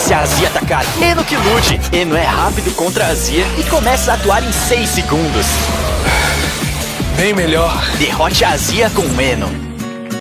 Se a azia atacar, Eno que lute. Eno é rápido contra a azia e começa a atuar em 6 segundos. Bem melhor. Derrote a azia com Eno.